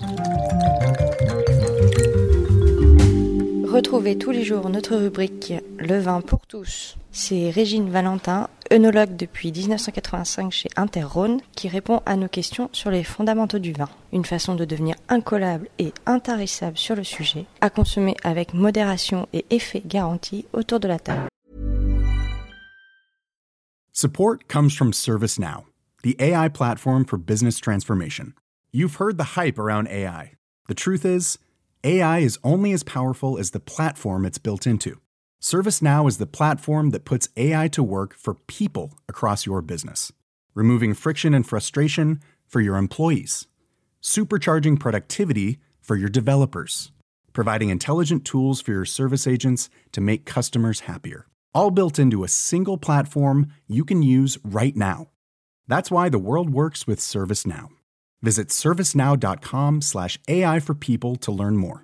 Retrouvez tous les jours notre rubrique Le vin pour tous. C'est Régine Valentin, œnologue depuis 1985 chez Inter-Rhône, qui répond à nos questions sur les fondamentaux du vin. Une façon de devenir incollable et intarissable sur le sujet, à consommer avec modération et effet garanti autour de la table. Support comes from ServiceNow, the AI platform for business transformation. You've heard the hype around AI. The truth is, AI is only as powerful as the platform it's built into. ServiceNow is the platform that puts AI to work for people across your business, removing friction and frustration for your employees, supercharging productivity for your developers, providing intelligent tools for your service agents to make customers happier, all built into a single platform you can use right now. That's why the world works with ServiceNow. Visit servicenow.com/AI for people to learn more.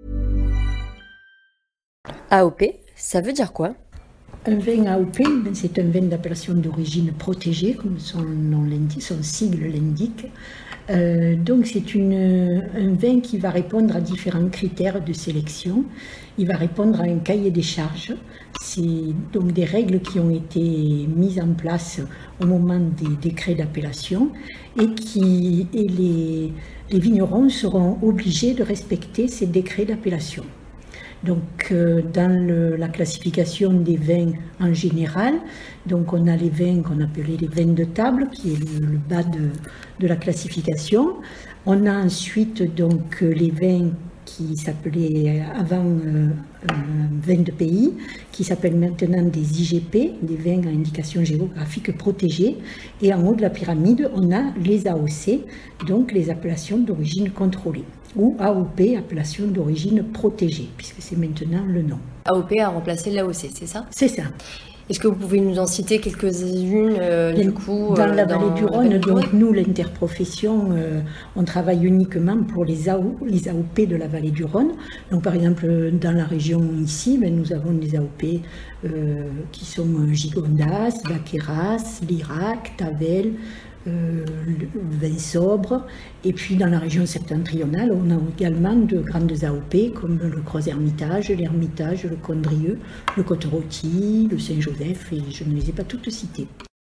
AOP, ça veut dire quoi? Un vin AOP, c'est un vin d'appellation d'origine protégée, comme son sigle l'indique. Donc c'est un vin qui va répondre à différents critères de sélection. Il va répondre à un cahier des charges. C'est donc des règles qui ont été mises en place au moment des décrets d'appellation et les vignerons seront obligés de respecter ces décrets d'appellation. Donc, dans la classification des vins en général, donc on a les vins qu'on appelait les vins de table, qui est le bas de la classification. On a ensuite donc les vins qui s'appelaient avant vins de pays, qui s'appellent maintenant des IGP, des vins à indication géographique protégée. Et en haut de la pyramide, on a les AOC, donc les appellations d'origine contrôlée, ou AOP, appellation d'origine protégée, puisque c'est maintenant le nom. AOP a remplacé l'AOC, c'est ça? C'est ça. Est-ce que vous pouvez nous en citer quelques-unes dans la vallée du Rhône, donc nous, l'interprofession, on travaille uniquement pour les AOP de la vallée du Rhône. Donc par exemple, dans la région ici, nous avons des AOP qui sont Gigondas, Vaqueras, Lirac, Tavel, vin sobre. Et puis dans la région septentrionale, on a également de grandes AOP comme le Creuse-Hermitage, l'Hermitage, le Condrieu, le Côte-Rôtie, le Saint-Joseph, et je ne les ai pas toutes citées.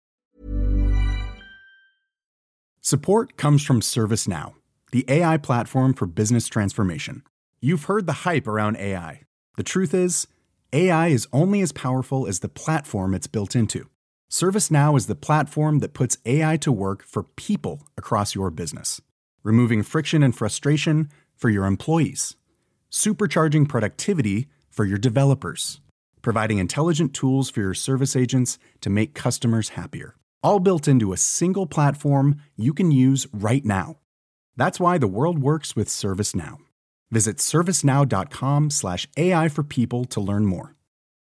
Support comes from ServiceNow, the AI platform for business transformation. You've heard the hype around AI. The truth is, AI is only as powerful as the platform it's built into. ServiceNow is the platform that puts AI to work for people across your business, removing friction and frustration for your employees, supercharging productivity for your developers, providing intelligent tools for your service agents to make customers happier, all built into a single platform you can use right now. That's why the world works with ServiceNow. Visit servicenow.com/AI for people to learn more.